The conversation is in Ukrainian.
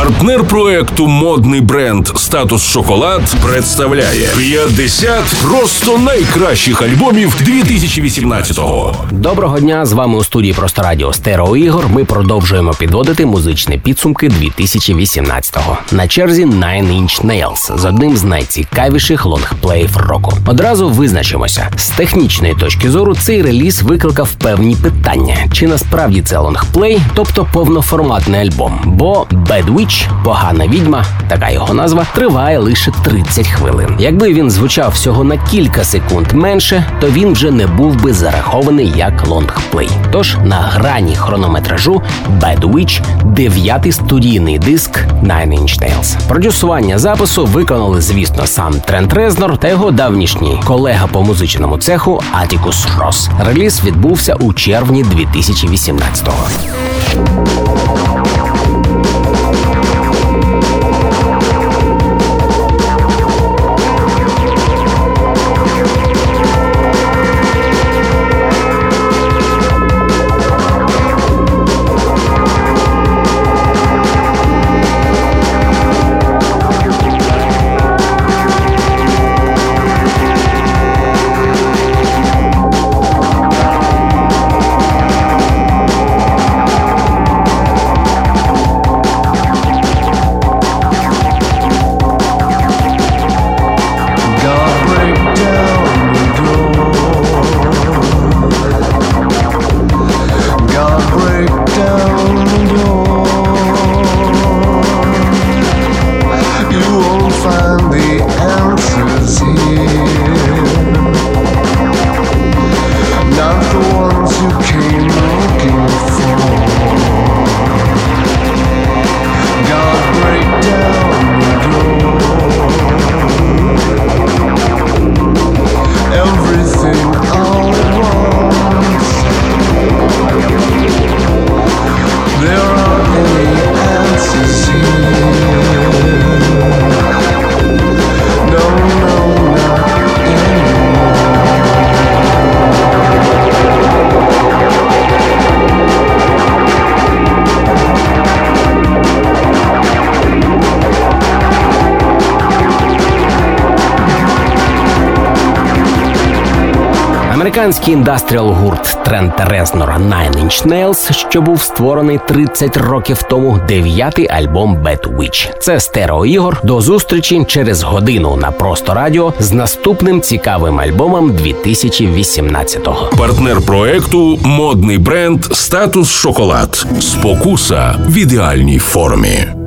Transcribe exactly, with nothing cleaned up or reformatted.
Партнер проекту модний бренд «Статус Шоколад» представляє п'ятдесят просто найкращих альбомів дві тисячі вісімнадцятого. Доброго дня, з вами у студії Просто Радіо Стерео Ігор. Ми продовжуємо підводити музичні підсумки дві тисячі вісімнадцятого. На черзі Nine Inch Nails з одним з найцікавіших лонгплеїв року. Одразу визначимося. З технічної точки зору цей реліз викликав певні питання. Чи насправді це лонгплей, тобто повноформатний альбом? Бо Bad Witch, погана відьма, така його назва, триває лише тридцять хвилин. Якби він звучав всього на кілька секунд менше, то він вже не був би зарахований як лонгплей. Тож на грані хронометражу Bad Witch – дев'ятий студійний диск Nine Inch Nails. Продюсування запису виконали, звісно, сам Трент Резнор та його давнішній колега по музичному цеху Атікус Росс. Реліз відбувся у червні дві тисячі вісімнадцятого. Американський індастріал-гурт Трента Резнора Nine Inch Nails, що був створений тридцять років тому, дев'ятий альбом Bad Witch. Це Стерео Ігор. До зустрічі через годину на Просто Радіо з наступним цікавим альбомом дві тисячі вісімнадцятого. Партнер проекту модний бренд «Статус Шоколад». Спокуса в ідеальній формі.